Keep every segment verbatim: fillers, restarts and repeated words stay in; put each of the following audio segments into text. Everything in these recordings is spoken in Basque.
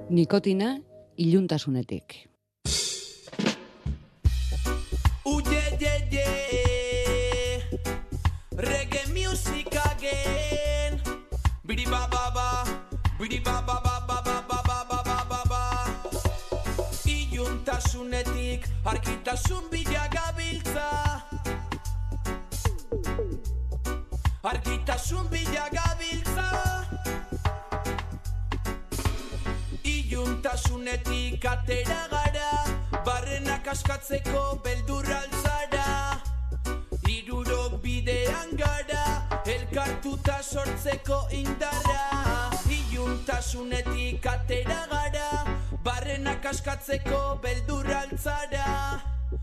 Nikotina iluntasunetik. Uye, ye, ye. Reggae music again. Bidi ba ba ba. Bidi ba ba ba ba ba ba ba ba ba ba ba. Iluntasunetik argitasun bila gabiltza. Argitasun bila gabiltza. Iluntasunetik atera gara, barrenak askatzeko beldurra altzara. Hirurok bidean gara, elkartuta sortzeko indarra. Iluntasunetik atera gara, barrenak askatzeko beldurra altzara.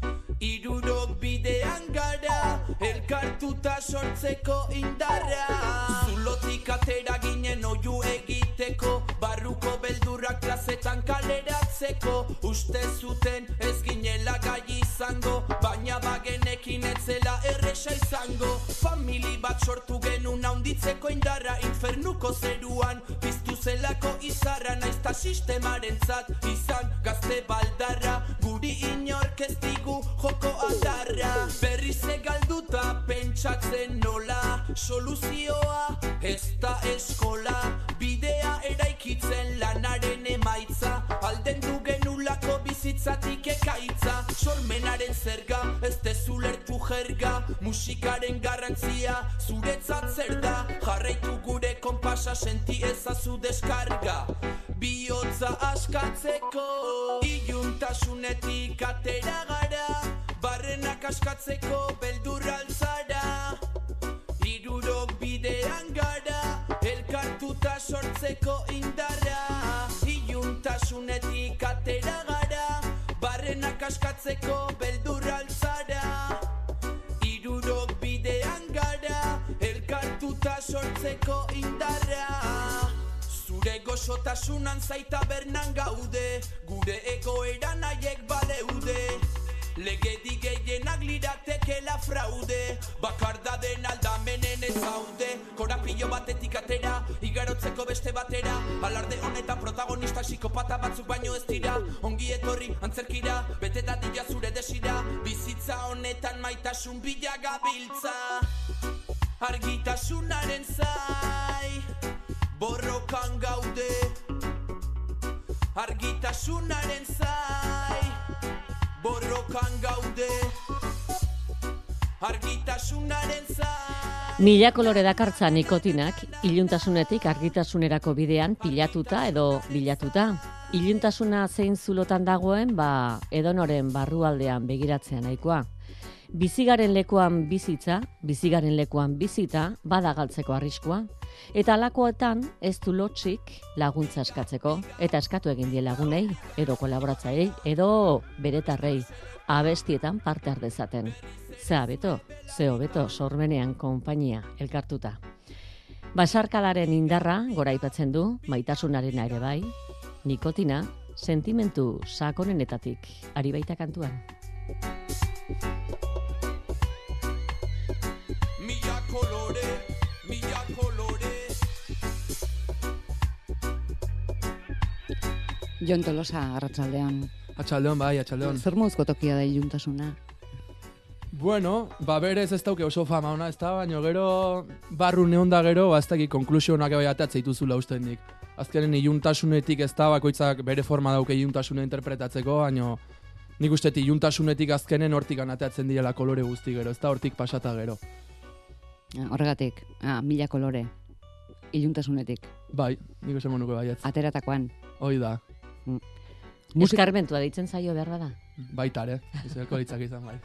Hirurok bidean gara, elkartuta sortzeko indarra. Zulotik atera ginen oiu egiteko, barruko beldurrak plazetan kaleratzeko. Uste zuten ez ginela gai izango, baina bagenekin etzela erresa izango. Famili bat sortu genuen haunditzeko indarra, infernuko zeruan piztu zelako izarra. Naizta sistemaren zat izan gazte baldarra, guri inork ez digu joko adarra. Berriz egalduta pentsatzen nola, soluzioa ez da eskola. Bidea eraikitzen lanaren emaitza, alden du genulako bizitzatik ekaitza. Sormenaren zerga, ez dezu lertu jerga, musikaren garrantzia zuretzat zer da. Jarraitu gure konpasa, senti ezazu deskarga, bihotza askatzeko. Iluntasunetik atera gara, barrenak askatzeko beldurra altzara. Hirurok bidean gara, elkartuta sortzeko indarra. Iluntasunetik atera gara, barrenak askatzeko beldurra altzara. Hirurok bidean gara, elkartuta sortzeko indarra. Zure goxotasunan zaita bernan gaude, gure egoeran haiek baleude. Legedi gehienak liratekela fraude, bakardaden aldamenen ez zaude. Korapillo batetik atera, igarotzeko beste batera. Alarde honetan protagonista psikopata batzuk baino ez dira. Ongi etorri antzerkira, bete dadila zure desira. Bizitza honetan maitasun bila gabiltza. Argitasunaren zai, borrokan gaude. Argitasunaren zai, borrokan gaude. Argitasunaren zai. Mila kolore dakartza nikotinak, iluntasunetik argitasunerako bidean pilatuta edo bilatuta. Iluntasuna zein zulotan dagoen, ba, edonoren barrualdean begiratzea nahikoa. Bizigaren lekuan bizitza, bizigaren lekuan bizita, bada galtzeko arriskua. Eta alakoetan ez du lotxik laguntza eskatzeko, eta eskatu egin die lagunei, edo kolaboratzailei, edo beretarrei, abestietan parte har dezaten. Ze abeto, ze hobeto, sormenean konpainia elkartuta. Basarkadaren indarra goraipatzen du, maitasunarena ere bai, nikotina, sentimentu sakonenetatik, ari baita kantuan. Mila kolore, mila kolore. Jon Tolosa, arratsaldean. Atxaldeon, bai, atxaldeon. Zer moduzko tokia da iluntasuna? Bueno, ba berez ez dauke oso fama ona, ez da, baina gero barru neon da gero, ba ez dakik konklusionak bai ateatzea dituzula usten dik. Azkenen iluntasunetik ez da, bakoitzak bere forma dauke iluntasuna interpretatzeko, baina nik ustetik iluntasunetik azkenen hortik anateatzen direla kolore guzti gero, ez da hortik pasata gero. Horregatik, ah, mila kolore, iluntasunetik. Bai, nik esan monuko baietz. Ateratakoan. Hoi da. Mm. Eskarmentua deitzen zaio behar bada. Baitare, izango litzak izan bai.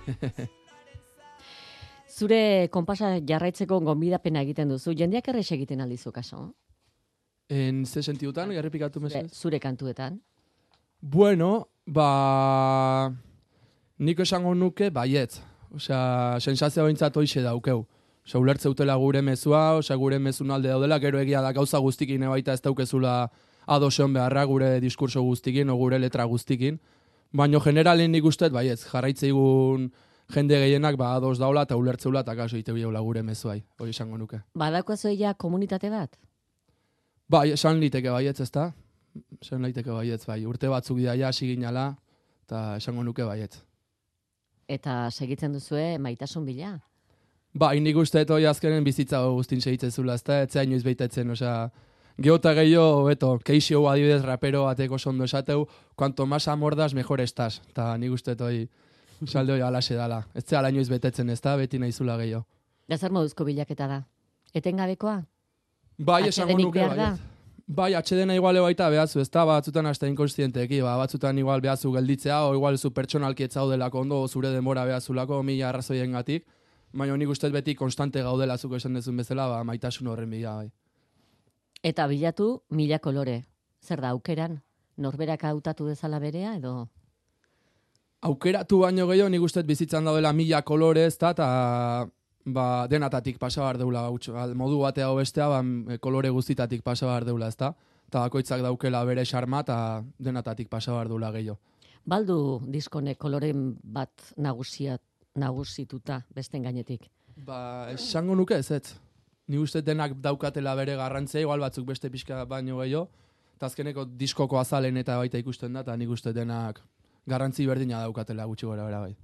Zure konpasa jarraitzeko gonbidapena egiten duzu, jendeak errex egiten aldizu kaso? En ze sentidutan, errepikatu mesez? Zure kantuetan? Bueno, ba... Niko esango nuke, baietz. Osea, sensazio bintzat hoixe daukeu. Osea, ulertze utela gure mezua, osea, gure mezun alde daudela, gero egia da gauza guztikin ebaita ez daukezula adoseon beharra gure diskurso guztikin, o gure letra guztikin. Baina generalen nik usteet, baietz, jarraitzeigun jende gehienak ba ados daula eta ulertzeula eta kaso ite bideula gure mezuai, hori esango nuke. Badako zoia komunitate bat? Bai, esan liteke baietz, ezta? esan daiteke baietz, bai. Urte batzuk dira ja hasi ginala, eta esango nuke baietz. Eta segitzen duzue maitasun bila? Ba, nik uste hoi azkenen bizitza guztin segitzen zula, ez da, etzea inoiz beitetzen, osea, geota gehiago, beto, keixio adibidez rapero bateko sondo esateu, cuanto más amordas, mejor estás. Eta nik uste hoi, salde hoi alaxe dala. Ez zea inoiz betetzen, ez da, beti nahi zula gehiago. Da zer moduzko bilaketa da? Etengabekoa? Bai, esango Atsedenik nuke, behar da? baiet. Bai, atxedena iguale baita behazu, ez da, batzutan hasta inkonstienteki, ba, batzutan igual behazu gelditzea, o igual zu pertsonalki etzaudelako ondo, o zure denbora behazulako, mila arrazoien gatik, baina nik uste beti konstante gaudela zuko esan dezun bezala, ba, maitasun horren bila, bai. Eta bilatu mila kolore. Zer da, aukeran? Norberak hautatu dezala berea, edo? Aukeratu baino gehiago, nik uste bizitzan daudela mila kolore, ez da, eta ba, denatatik pasa behar deula, modu batea o bestea, ba, kolore guztitatik pasa behar deula, ez da? Eta bakoitzak daukela bere xarma, eta denatatik pasa behar deula gehiago. Baldu diskonek koloren bat nagusia, nagusituta besten gainetik? Ba, esango nuke ez ez. Ni uste denak daukatela bere garrantzea, igual batzuk beste pixka baino gehiago, eta azkeneko diskoko azalen eta baita ikusten da, eta nik uste denak garrantzi berdina daukatela gutxi gora bera bai.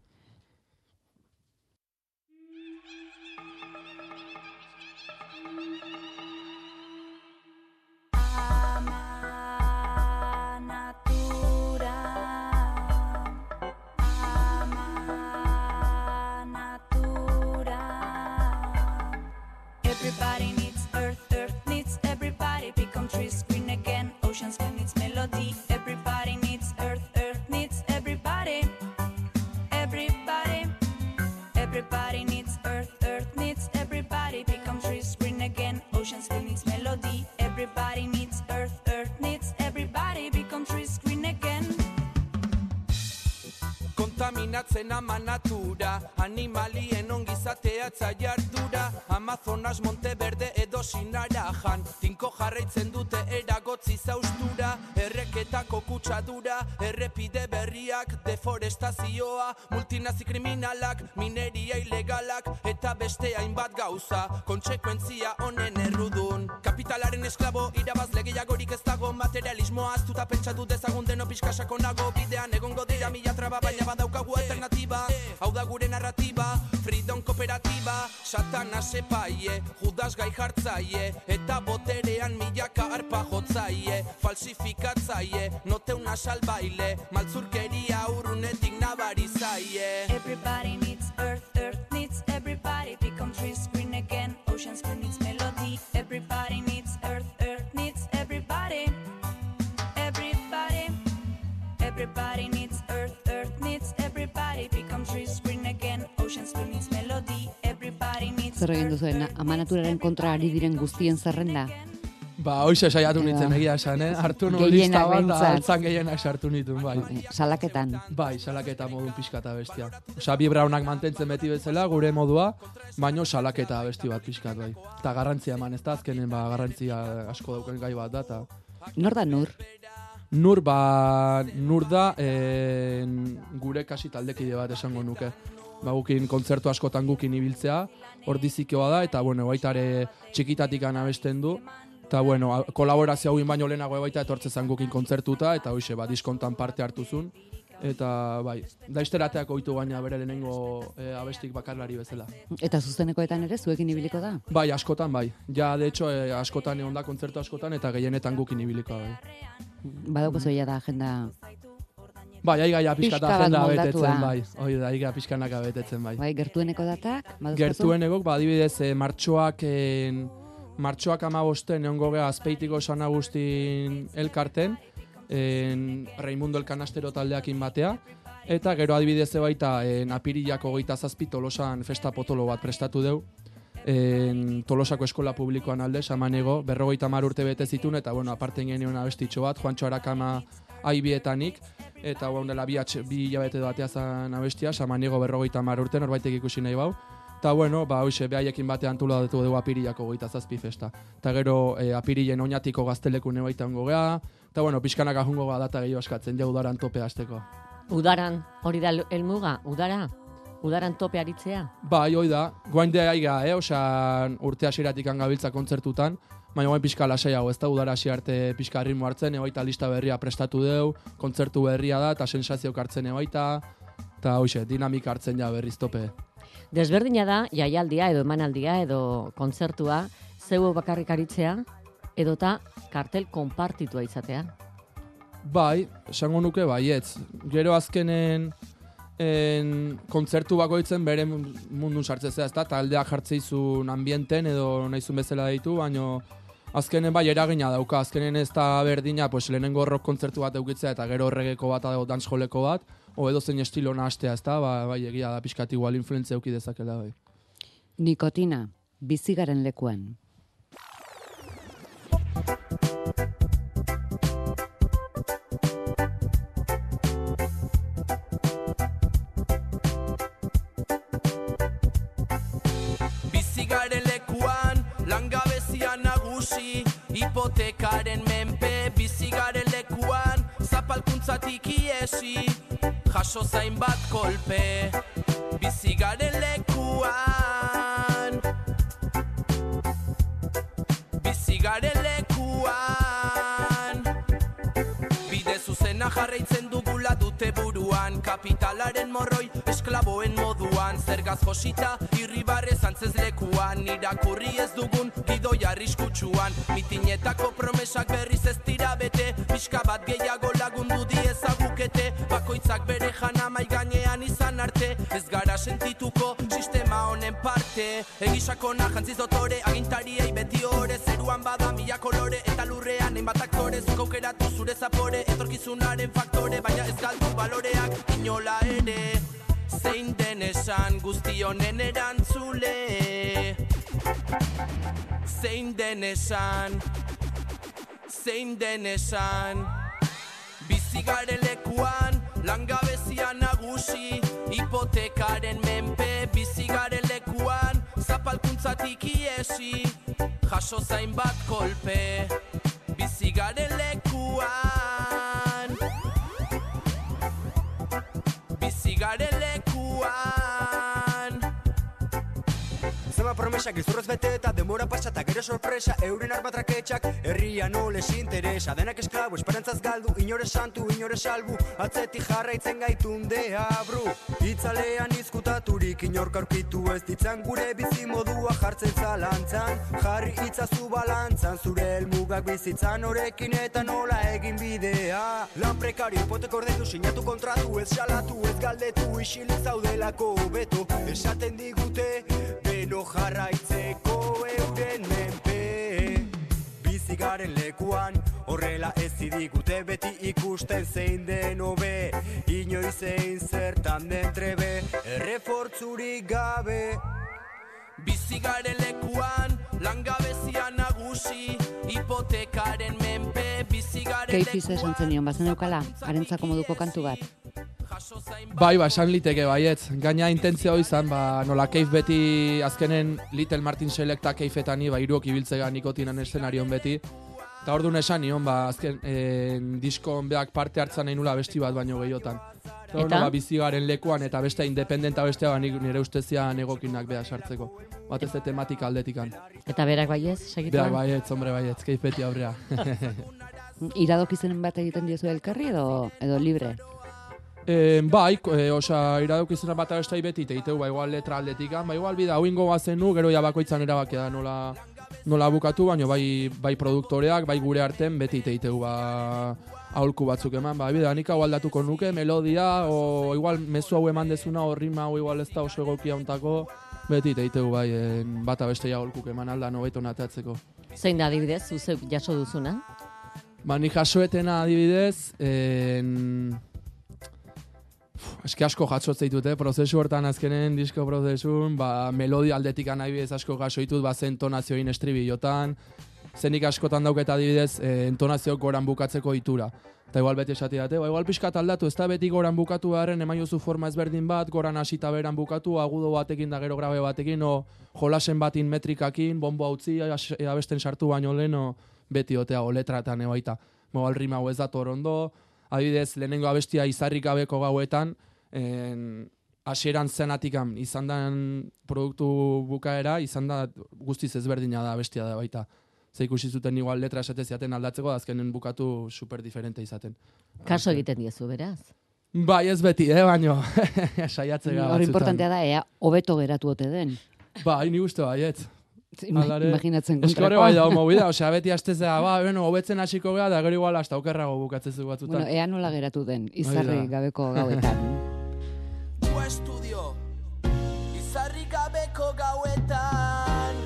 Everybody needs earth, earth needs everybody. Become trees, green again, oceans green needs melody. Everybody needs earth, earth needs everybody. Everybody, everybody needs earth, earth needs everybody. Become trees, green again, oceans green needs melody. Everybody needs earth, earth needs everybody. Become trees, green again. Kontaminatzen ama natura, animalien ongizatea jardura. Amazonas, Monteverde edo Sinarajan, tinko jarraitzen dute eragotzi zaustura. Erreketako kutsadura, errepide berriak, deforestazioa, multinazi kriminalak, mineria ilegalak, eta beste hainbat gauza, kontsekuentzia honen errudun. Kapitalaren esklabo, irabazle gehiagorik ez dago, materialismoa aztuta pentsatu dezagun deno pixkasako nago, bidean egongo dira mila traba, baina badaukagu alternatiba, hau da gure narratiba, freedom kooperatiba, satana sepaie, judas gai jartzaie, eta boterean milaka arpa jotzaie, falsifikatzaie, note una salbaile, maltzurkeria urrunetik nabarizaie. Everybody needs earth, earth needs everybody. Become trees, green again, oceans green needs melody. Everybody needs earth, earth needs everybody. Everybody, everybody needs earth, earth needs everybody. Become trees, green again, oceans green needs melody. Everybody needs Zer egin duzuen, ama naturaren kontra ari diren guztien zerrenda? Ba, hoxe saiatu nintzen egia esan, eh? Hartu nuen Gehienak lista bat, da behintzat. altzan gehienak sartu nituen, bai. Salaketan. Bai, salaketa modun pixka eta bestia. Osa, bi braunak mantentzen beti bezala, gure modua, baino salaketa besti bat pixkat, bai. Eta garrantzia eman, ez da azkenen, ba, garrantzia asko dauken gai bat da, eta... Nor da nur? Nur, ba, nur da, en, gure kasi taldekide bat esango nuke. Ba, gukin kontzertu askotan gukin ibiltzea, hor dizikoa da, eta, bueno, baitare txikitatik abesten du, eta, bueno, a- kolaborazio hauin baino lehenago baita etortze zan gukin kontzertuta, eta hoxe, ba, diskontan parte hartuzun, eta, bai, da izterateak oitu baina bere lehenengo e, abestik bakarlari bezala. Eta zuzenekoetan ere zuekin ibiliko da? Bai, askotan, bai. Ja, de hecho, e, askotan egon da kontzertu askotan, eta gehienetan gukin ibiliko, bai. Badaukazu ja da agenda... Bai, aiga ja pixka Pixka bat agenda moldatua. betetzen, bai. Hoi da, aiga pixkanaka betetzen, bai. Bai, gertueneko datak? Baduzkazu? Gertuenegok, ba, adibidez, e, martxoak, en, martxoak amabosten egongo gea azpeitiko San Agustin elkarten, en, Raimundo Elkanastero taldeakin batea, eta gero adibidez baita en, apirilak hogeita zazpi Tolosan festa potolo bat prestatu deu, en, Tolosako eskola publikoan alde, samanego, berrogeita mar urte bete zitun, eta bueno, aparten genuen abestitxo bat, Juantxo Arakama aibietanik, eta bueno, dela bi, atx, bi hilabete batea zan abestia, samanego berrogeita mar urte, norbaitek ikusi nahi bau. Eta bueno, ba, hoxe, behaiekin batean antolatu dugu apirilako goita zazpi festa. Eta gero e, apirilen oinatiko gazteleku nebaita hongo geha, eta bueno, pixkanak ahungo ga data gehiago askatzen, ja udaran tope hasteko. Udaran, hori da helmuga, udara? Udaran tope aritzea? Bai, hoi da, guain de aiga, eh? Osa, urte hasieratik gabiltza kontzertutan, baina guain pixka lasaiago, ez da udara hasi arte pixka ritmo hartzen, ebaita lista berria prestatu deu, kontzertu berria da, eta sensazioak hartzen ebaita, eta hoxe, dinamika hartzen ja berriz tope. Desberdina da, jaialdia edo emanaldia edo kontzertua, zeu bakarrik aritzea, edota kartel konpartitua izatea. Bai, esango nuke baietz. Gero azkenen en, kontzertu bakoitzen bere mundun sartzezea, ezta? Taldeak jartzeizun ambienten edo nahizun bezala ditu, baino azkenen bai eragina dauka. Azkenen ez da berdina, pues lehenengo rock kontzertu bat eukitzea eta gero reggaeko bat edo dancehalleko bat, o edo zein estilo nahastea, ezta? Ba, bai egia da pixkat igual influentzia euki dezakela bai. Nikotina, bizigaren lekuan. Bizigaren lekuan, langabezia nagusi, hipotekaren menpe. Bizigaren lekuan, zapalkuntzatik iesi, jaso zain bat kolpe. Bizigaren lekuan, bizigaren lekuan, bide zuzena jarraitzen dugula dute buruan, kapitalaren morroi esklaboen moduan, zergaz josita irribarre zantzez lekuan, irakurri ez dugun gidoi arriskutsuan, mitinetako promesak berriz ez dira bete, pixka bat gehiago lagundu diezagukete, bakoitzak bere jana mai gainean izan arte, ez gara sentituko sistema honen parte, egisakona jantziz dotore, agintariei beti ore, zeruan bada mila kolore, eta lurrean hainbat aktore, zuk aukeratu zure zapore, etorkizunaren faktore, baina ez galdu baloreak inola ere, zein den esan guzti honen erantzule, zein den esan, zein den esan, bizigaren lekuan, langabezia nagusi, hipotekaren menpe. Bizigaren lekuan, zapalkuntzatik iesi, jaso zain bat kolpe. Bizigaren lekuan, bizigaren lekuan. Zema promesa gizurrez bete eta demora pasa eta gero sorpresa, euren armatraketxak herria no les interesa, denak esklabo, esperantzaz galdu, inore santu, inore salbu, atzetik jarraitzen gaitundea bru, itzalean izkutaturik inork aurkitu ez ditzan, gure bizimodua jartzen zalantzan, jarri itzazu balantzan, zure helmugak bizitzan horekin eta nola egin bidea, lan prekario, hipoteko ordaindu, sinatu kontratu, ez salatu, ez galdetu, isilik zaudelako beto, esaten digute, beno jarraitzeko euren menpe. Bizigaren lekuan, horrela ez digute beti ikusten zein den hobe, inoiz zein zertan den trebe, errefortzurik gabe. Bizigaren lekuan, langabezia nagusi, hipotekaren menpe. Bizigaren lekuan, Keifiz esan zenion, bazen eukala, harentzako moduko kantu bat. Bai, ba, esan liteke baietz. Gaina intentzio izan, ba, nola keif beti, azkenen Little Martin Selecta keifetani, ba, iruok ibiltzega nikotinan eszenarion beti. Eta orduan esan nion, ba, azken, eh, diskon beak parte hartzan nahi nula besti bat baino gehiotan. Eta? Nola, bizigaren lekuan eta bestea independenta bestea, ba, nire ustezian egokinak beha sartzeko. Batez de tematika aldetikan. Eta berak baiez, segituan? Berak baietz, hombre baietz, keif beti aurrea. Iradokizenen bat egiten diozu elkarri edo, edo libre? E, bai, e, osa, iradukizuna bat abestai beti teiteu, ba, igual letra aldetikan, ba, igual bida, hauingo bazenu, gero ja bakoitzan erabakia da nola, nola bukatu, baina bai, bai produktoreak, bai gure arten beti teiteu, ba, aholku batzuk eman, ba, bida, nik hau aldatuko nuke, melodia, o igual mezu hau eman dezuna, o rima hau igual ez da oso egokia ontako, beti teiteu, bai, en, bat abestai aholkuk eman alda nobeto natatzeko. Zein da adibidez, zuze jaso duzuna? Ba, nik jasoetena adibidez, en... Eski asko jatsotzeit dute, prozesu hortan azkenen disko prozesun, ba, melodia aldetik adibidez asko jasoitut, ba, zen entonazioin estribillotan, zenik askotan dauketa adibidez, e, entonazioak goran bukatzeko itura. Eta igual beti esati date, ba, igual pixkat aldatu, ez da beti goran bukatu beharren, eman jozu forma ezberdin bat, goran hasita beran bukatu, agudo batekin da gero grabe batekin, o jolasen batin metrikakin, bombo hautzi, abesten sartu baino lehen, beti otea, o letratan ebaita. Igual rima hau ez dator ondo, adibidez, lehenengo abestia izarrik gabeko gauetan, en, hasieran zenatikan izan den produktu bukaera, izan da guztiz ezberdina da abestia da baita. ze ikusi zuten igual letra esate ziaten aldatzeko, azkenen bukatu super diferente izaten. Kaso egiten diezu, beraz. Bai, ez beti, eh, baino, saiatzega Hor importantea da, ea, hobeto geratu ote den. Bai, ni uste baiet. Ima, Aldare, imaginatzen eskore kontrakoa. bai dago movida, osea, beti astezea, ba, bueno, hobetzen hasiko gea, da gero igual hasta okerrago bukatzezu batzutan. Bueno, ea nola geratu den, izarri Hori da. gabeko gauetan. U estudio, izarri gabeko gauetan.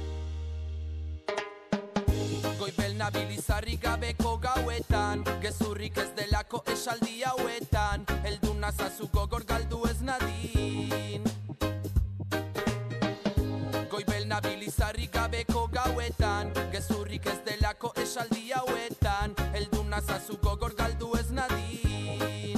Goibel nabil izarri gabeko gauetan, gezurrik ez delako esaldi hauetan, heldu nazazu gogor galdu ez nadin. Goibel nabil izarri gabeko gauetan, gezurrik ez delako esaldi hauetan, heldu nazazu gogor galdu ez nadin.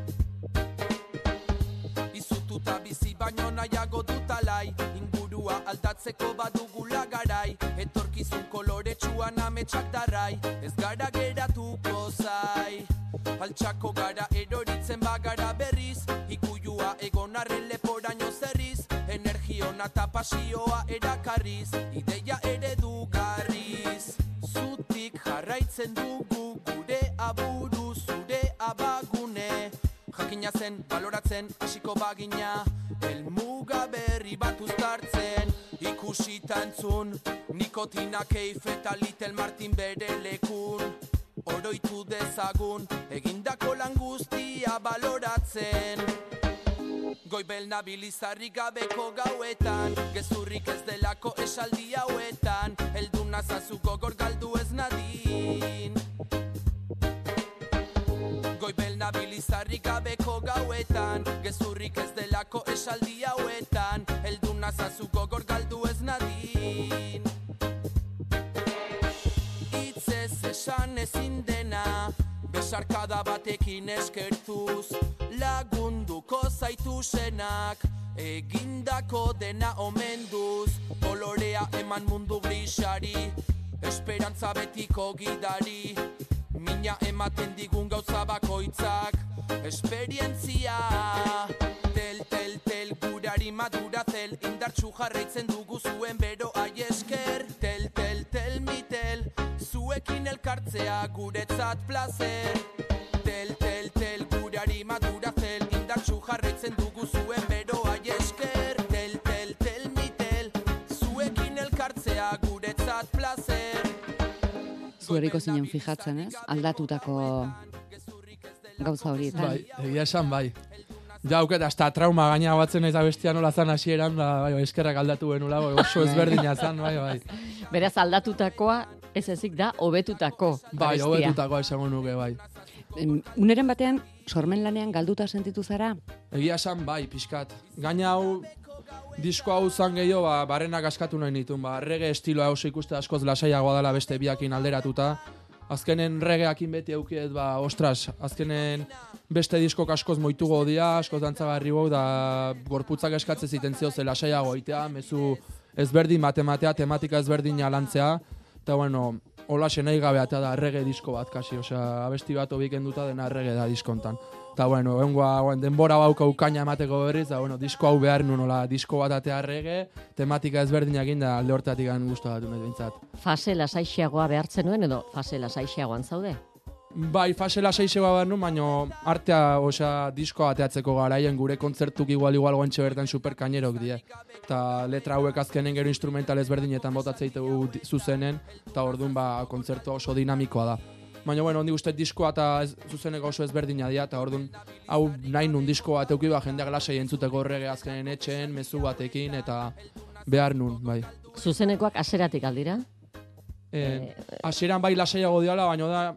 Izututa bizi baino nahiago dutalai, ingurua aldatzeko badugula garai, etorkizun koloretsuan ametsak darrai, ez gara geratuko zai. Altxako gara eroritzen bagara berriz, ikuilua egon arren leporaino zerriz, energiona eta pasioa erakarriz, ideia eredugarriz. Zutik jarraitzen dugu gure aburu zure abagune, jakina zen, baloratzen, hasiko bagina, helmuga berri bat uztartzen, ikusita entzun, nikotina keif eta Little Martin bere lekun, oroitu dezagun, egindako lan guztia baloratzen. Goibel nabil izarri gabeko gauetan, gezurrik ez delako esaldi hauetan, heldu nazazu gogor galdu ez nadin. Goibel nabil izarri gabeko gauetan, gezurrik ez delako esaldi hauetan, heldu nazazu gogor galdu ez nadin. Itzez esan ezin dena, besarkada batekin eskertuz, lagunduko zaitu senak, egindako dena omenduz, kolorea eman mundu grisari, esperantza betiko gidari, mina ematen digun gauza bakoitzak, esperientzia. Tel, tel, tel, gurari madura zel, indartsu jarraitzen dugu zuen bero aiesker. Tel, tel, tel, mitel, zuekin elkartzea guretzat placer. Tel, tel, tel, gurari madura zel, indartsu jarraitzen dugu zuen bero aiesker. Tel, tel, tel, mitel, zuekin elkartzea guretzat placer. Zueriko zinen fijatzen, ez? Aldatutako gauza horietan. Bai, egia esan bai. Ja, auket, hasta trauma gaina batzen ez abestia nola zan hasieran, da, bai, eskerrak aldatu benula, bai, oso ezberdina zan, bai, bai. Beraz, aldatutakoa ez ezik da, hobetutako Bai, abestia. hobetutakoa esango nuke, bai. Em, Uneren batean, sormen lanean galduta sentitu zara? Egia esan bai, pixkat. Gaina hau, disko hau zan gehiago, ba, barrenak askatu nahi nituen, ba, reggae estiloa oso ikuste askoz lasaiagoa dela beste biakin alderatuta. Azkenen regeakin beti eukiet, ba, ostras, azkenen beste diskok askoz moitugo dia, askoz dantzagarri bau, da gorputzak eskatze ziten zio ze lasaiago itea, mezu ezberdin matematea, tematika ezberdin alantzea, eta bueno, hola senai gabeatea da reggae disko bat kasi, osea, abesti bat obikenduta dena reggae da diskontan. Eta bueno, egungoa denbora bauka ukaina emateko berriz, da bueno, disko hau behar nuen, hola, disko bat atea reggae, tematika ezberdinak da alde hortatik gan guztu bat dut bintzat. Fase lasaixeagoa behartzen nuen edo fase lasaixeagoan zaude? Bai, fase lasaixegoa behar nuen, baina artea, osea, diskoa ateatzeko garaien gure kontzertuk igual-igual goentxe bertan superkainerok die. Eta letra hauek azkenen gero instrumental ezberdinetan botatzeitegu zuzenen, eta orduan ba, kontzertu oso dinamikoa da. Baina, bueno, ondi guztet diskoa eta ez, zuzeneko oso ezberdina dira, eta orduan hau nahi nun disko bat euki ba, jendeak lasai entzuteko horrege azkenen etxeen, mezu batekin, eta behar nun, bai. Zuzenekoak aseratik aldira? E, hasieran bai lasaiago diala, baina da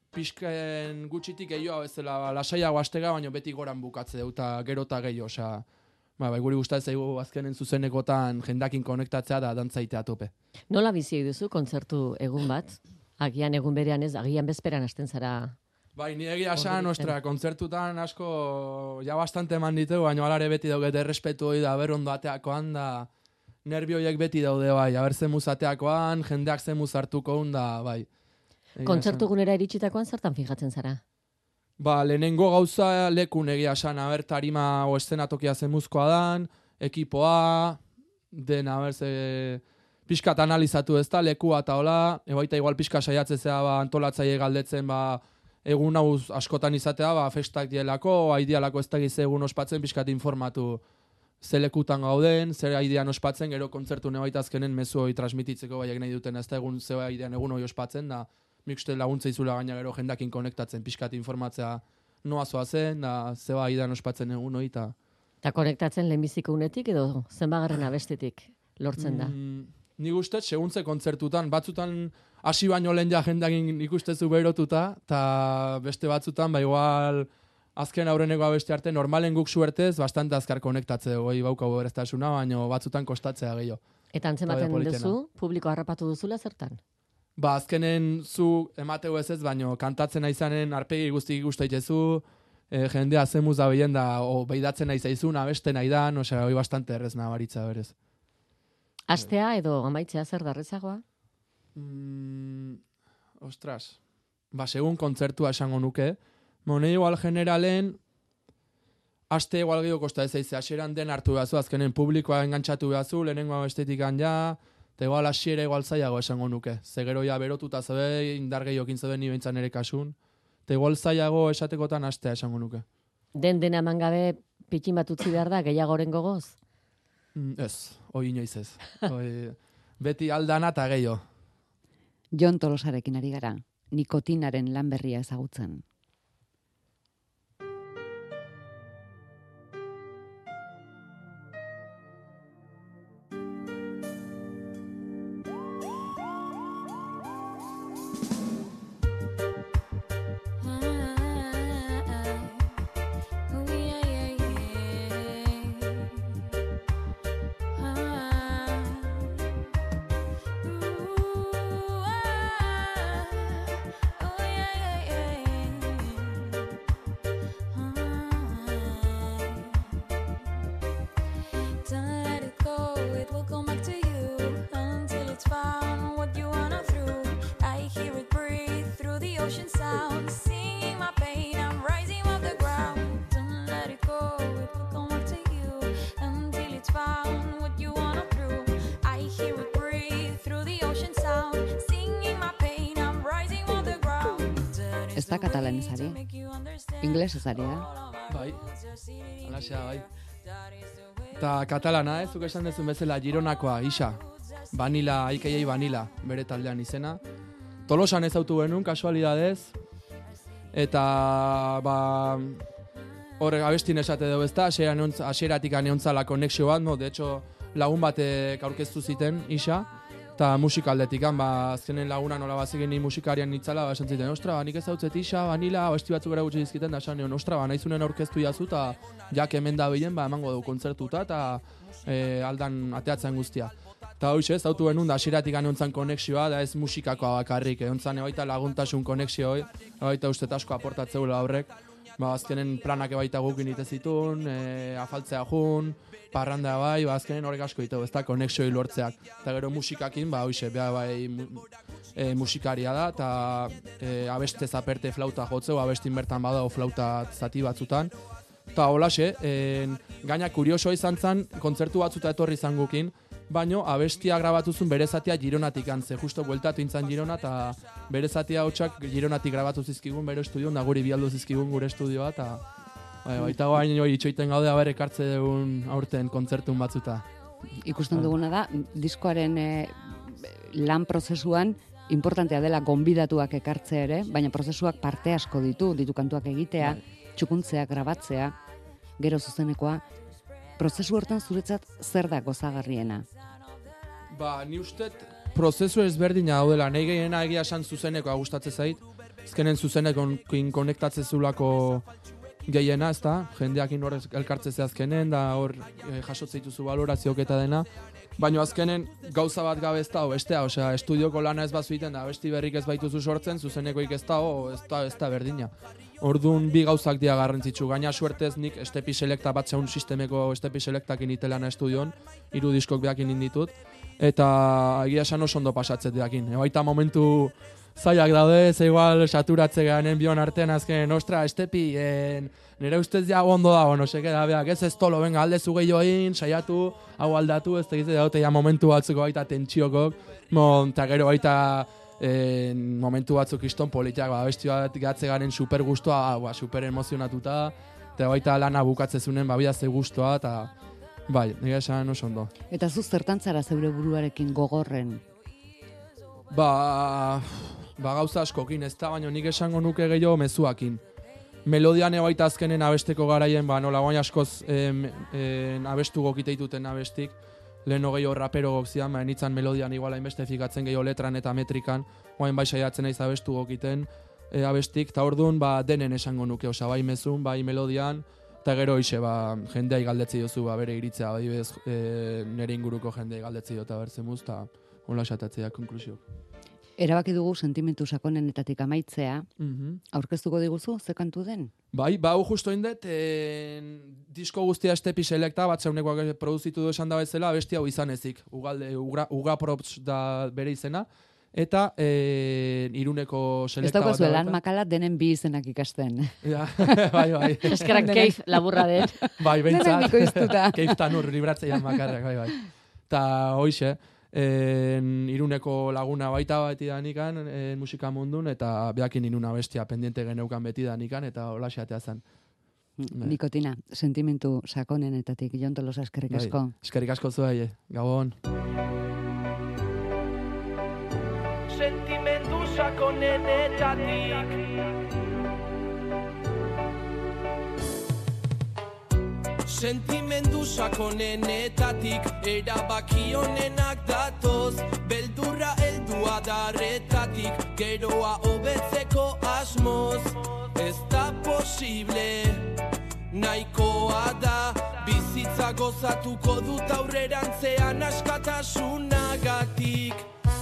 pixken gutxitik gehiago ez dela ba, lasaiago astega, baina beti goran bukatze dut, eta gero eta gehiago, osea, ba, bai, guri gustatzen zaigu azkenen zuzenekotan jendakin konektatzea da dantzaitea tope. Nola bizi duzu kontzertu egun bat? Agian egun berean ez, agian bezperan hasten zara. Bai, ni egia esan, ostra, kontzertutan asko ja bastante eman ditu, baina alare beti daugete errespetu hori da, ber ondo ateakoan da, nervioiek beti daude, bai, aber zemuz ateakoan, jendeak zemuz hartuko hon da, bai. Egia Kontzertu esan. gunera iritsitakoan zertan fijatzen zara? Ba, lehenengo gauza lekun egia esan, aber tarima o eszenatokia zemuzkoa dan, ekipoa, den, aber ze pixkat analizatu ez da, lekua eta hola, ebaita igual pixka saiatzezea ba, antolatzaile galdetzen, ba, egun hau askotan izatea, ba, festak dielako, aidialako ez da gize egun ospatzen, pixkat informatu ze lekutan gauden, zer aidean ospatzen, gero kontzertu nebaita azkenen mezu hori transmititzeko baiak nahi duten, ez da egun ze aidean egun hori ospatzen, da nik uste laguntza izula gaina gero jendakin konektatzen, pixkat informatzea noa zoa zen, da zeba aidean ospatzen egun hori, eta... Eta konektatzen lehenbiziko unetik edo zenbagarren abestetik lortzen da? Mm, nik uste, seguntze kontzertutan, batzutan hasi baino lehen ja jendakin ikustezu berotuta, eta beste batzutan, ba igual... Azken aurreneko abesti arte, normalen guk suertez, bastante azkar konektatze goi baukau bereztasuna, baina batzutan kostatzea gehiago. Eta antzematen duzu, publiko harrapatu duzula zertan? Ba, azkenen zu emateu ez ez, baina kantatzen aizanen arpegi guztik ikustaitezu, e, jendea zemuz da behien da, o behidatzen nahi zaizun, abeste nahi dan, osea, hoi bastante errez nabaritza berez. Astea edo amaitzea zer darrezagoa? Mm, ostras, ba, segun kontzertua esango nuke, Mone igual generalen, aste igual gehiago kosta ez eize, aseran den hartu behazu, azkenen publikoa engantzatu behazu, lehenengo estetikan ja, eta igual asiera igual zailago esango nuke. Zegero ja berotuta zebe, indar gehiokin zebe ni behintzan ere kasun, eta igual zailago esatekotan astea esango nuke. Den dena eman gabe pikin bat utzi behar da, gehiagoren gogoz? Mm, ez, hoi inoiz ez. Hoi, beti aldana eta gehiago. Jon Tolosarekin ari gara, nikotinaren lan berria ezagutzen. Ez da katalanez ari, inglesez ari da. Bai, alaxea, bai. Eta katalana, ez, zuk esan dezun bezala, Gironakoa, isa. Vanila, aikeiei Vanila, bere taldean izena. Tolosan ez autu genuen, kasualidadez. Eta, ba, horrek abestin esate dugu ezta, asieratik aneontzala konexio bat, no? De hecho, lagun batek aurkeztu ziten, isa. Eta musikaldetik, ba, azkenen laguna nola bazigen ni musikarian nitzala, ba, esan ziten, ostra, ba, nik ez dautzet isa, Vanila, abesti batzuk gara gutxi dizkiten, da esan nion, ostra, ba, nahizunen aurkeztu jazu, eta jak hemen da bilen, ba, emango du kontzertuta, eta e, aldan ateatzen guztia. Eta hoxe, ez dautu benun, da asiratik aneontzan konexioa, da ez musikakoa bakarrik, egontzan ebaita laguntasun konexioi, ebaita ustet asko aportatzeula horrek, ba, azkenen planak ebaita gukin itezitun, e, afaltzea jun, parranda bai, ba, azkenen horrek asko ditu, ez da, konexioi lortzeak. Eta gero musikakin, ba, hoxe, beha bai mu, e, musikaria da, eta e, abeste zaperte flauta jotzeu, abestin bertan badao flauta zati batzutan. Eta holaxe, e, gaina kurioso izan zen, kontzertu batzuta etorri izan gukin, baino abestia grabatuzun bere zatia Gironatik antze, justo bueltatu intzan Girona, eta bere zatia hotxak Gironatik grabatu zizkigun bere estudioan, da guri bialdu zizkigun gure estudioa, eta bai, baita goain hori itxoiten gaude haber ekartze dugun aurten kontzertun batzuta. Ikusten duguna da, diskoaren e, lan prozesuan importantea dela gonbidatuak ekartzea ere, baina prozesuak parte asko ditu, ditu kantuak egitea, txukuntzea, grabatzea, gero zuzenekoa. Prozesu hortan zuretzat zer da gozagarriena? Ba, ni ustet prozesu ezberdina daudela, nahi gehiena egia esan zuzenekoa gustatzen zait, ezkenen zuzenekoin konektatze zulako gehiena, ez da, jendeakin hor elkartzeze azkenen, da hor e, jasotze dituzu balorazioak eta dena, baina azkenen gauza bat gabe ez da, bestea, osea, estudioko lana ez bazu egiten da, besti berrik ez baituzu sortzen, zuzenekoik ez da, ez da, ez da berdina. Orduan bi gauzak dia garrantzitsu, gaina suertez nik estepi selekta bat zeun sistemeko estepi selektakin itelana estudion, hiru diskok behakin inditut, eta egia esan oso ondo pasatzet behakin. Ebaita momentu zaiak daude, ze igual saturatze garen bion artean azken, ostra, estepi, en, nire ustez ja ondo dago, no seke, da, beak, ez ez tolo, venga, alde zu gehiago egin, saiatu, hau aldatu, ez tegize, daute ja momentu batzuko baita tentsiokok, eta gero baita en, momentu batzuk iston politiak, ba, abesti bat gatze garen super guztua, ba, super emozionatuta, eta baita lana bukatzezunen, ba, bidazte guztua, eta bai, nire esan oso ondo. Eta zu zertan zara zeure buruarekin gogorren? Ba, ba gauza askokin, ez da, baina nik esango nuke gehiago mezuakin. Melodian baita azkenen abesteko garaien, ba, nola guain askoz em, em, abestu gokiteituten abestik, lehen gehiago rapero gokzian, ba, nitzan melodian igual hainbeste fikatzen gehiago letran eta metrikan, guain bai saiatzen naiz abestu gokiten e, abestik, eta orduan ba, denen esango nuke, osea, bai mezun, bai melodian, eta gero ixe, ba, jendea igaldetzi jozu, ba, bere iritzea, bai bez, e, nire inguruko jendea igaldetzi jota bertzemuz, eta hola esatatzea konklusiok. Erabaki dugu sentimentu sakonenetatik amaitzea, Mhm. aurkeztuko diguzu, ze kantu den? Bai, ba, hau justo indet, en, disko guztia estepi selekta, bat zeunekoak produzitu du esan da bezala, abesti hau izan ezik, ugalde, ugra, uga props da bere izena, eta en, iruneko Ez selekta bat. daukazu lan dauka. makala denen bi izenak ikasten. Ja, bai, bai. Eskerak keif laburra den. Bai, Denak behintzat. bikoiztuta. Keiftan ur, libratzeian makarrak, bai, bai. Ta hoixe, en, iruneko laguna baita beti danikan en, musika mundun, eta beakin inuna bestia pendiente geneukan beti danikan, eta hola xatea zen. Bai. Nikotina, sentimentu sakonenetatik, Jon Tolosa eskerrik Bai, asko. eskerrik asko zuei, Gabon. Sentimendu sakonenetatik Sentimendu sakonenetatik erabaki honenak datoz beldurra heldua darretatik geroa hobetzeko asmoz ez da posible nahikoa da bizitza gozatuko dut aurrerantzean askatasunagatik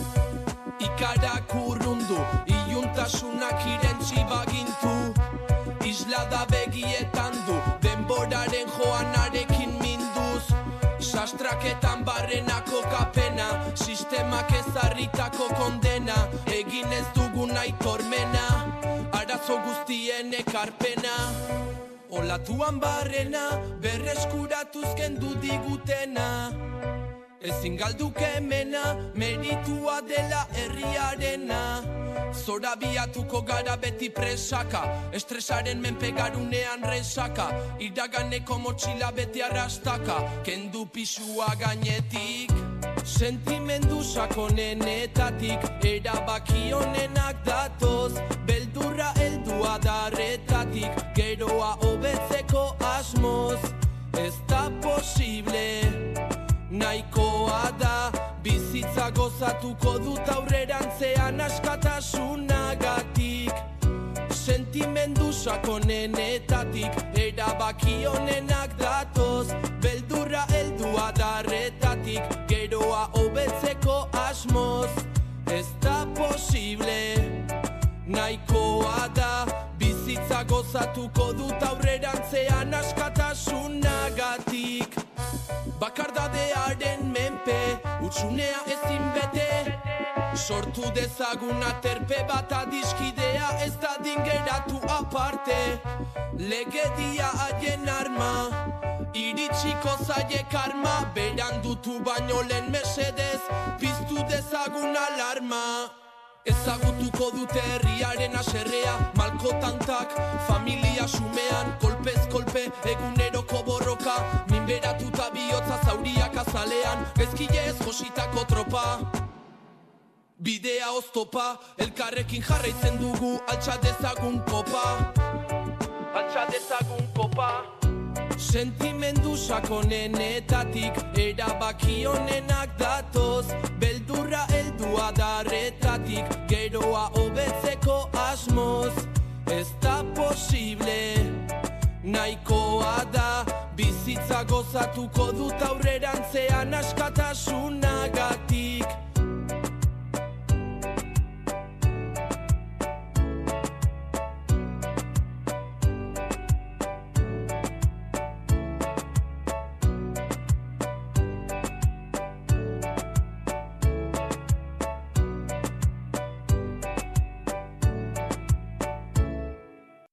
ikarak urrundu iluntasunak irentzi bagintu islada begietan du denboraren joanarekin minduz sastraketan barrenako kapena sistemak ezarritako kondena egin ez dugun aitormena arazo guztien ekarpena olatuan barrena berreskuratuz kendu digutena ezin galduke hemena meritua dela herriarena Zora biatuko gara beti presaka Estresaren menpegarunean resaka Iraganeko motxila beti arrastaka Kendu pisua gainetik Sentimendu sakonenetatik Erabaki honenak datoz Beldurra heldua darretatik Geroa hobetzeko asmoz Ez da posible nahikoa da bizitza gozatuko dut aurrerantzean askatasunagatik sentimendu sakonenetatik erabaki honenak datoz beldurra heldua darretatik geroa hobetzeko asmoz ez da posible nahikoa da bizitza gozatuko dut aurrerantzean askatasunagatik Bakardadearen menpe, utsunea ezin bete Sortu dezagun aterpe bat adiskidea ez da dingeratu aparte Legedia haien arma, iritsiko zaie karma Berandutu baino lehen mesedez, piztu dezagun alarma Ezagutuko dute herriaren aserrea, malkotantak, familia sumean, kolpez kolpe, eguneroko borroka, minberatuta bihotza zauriak azalean, gezkile ez jositako tropa. Bidea oztopa, elkarrekin jarraitzen dugu, altxa dezagun kopa. Altxa dezagun kopa. Sentimendu sakonenetatik erabaki honenak datoz beldurra heldua darretatik geroa hobetzeko asmoz ez da posible nahikoa da bizitza gozatuko dut aurrerantzean askatasuna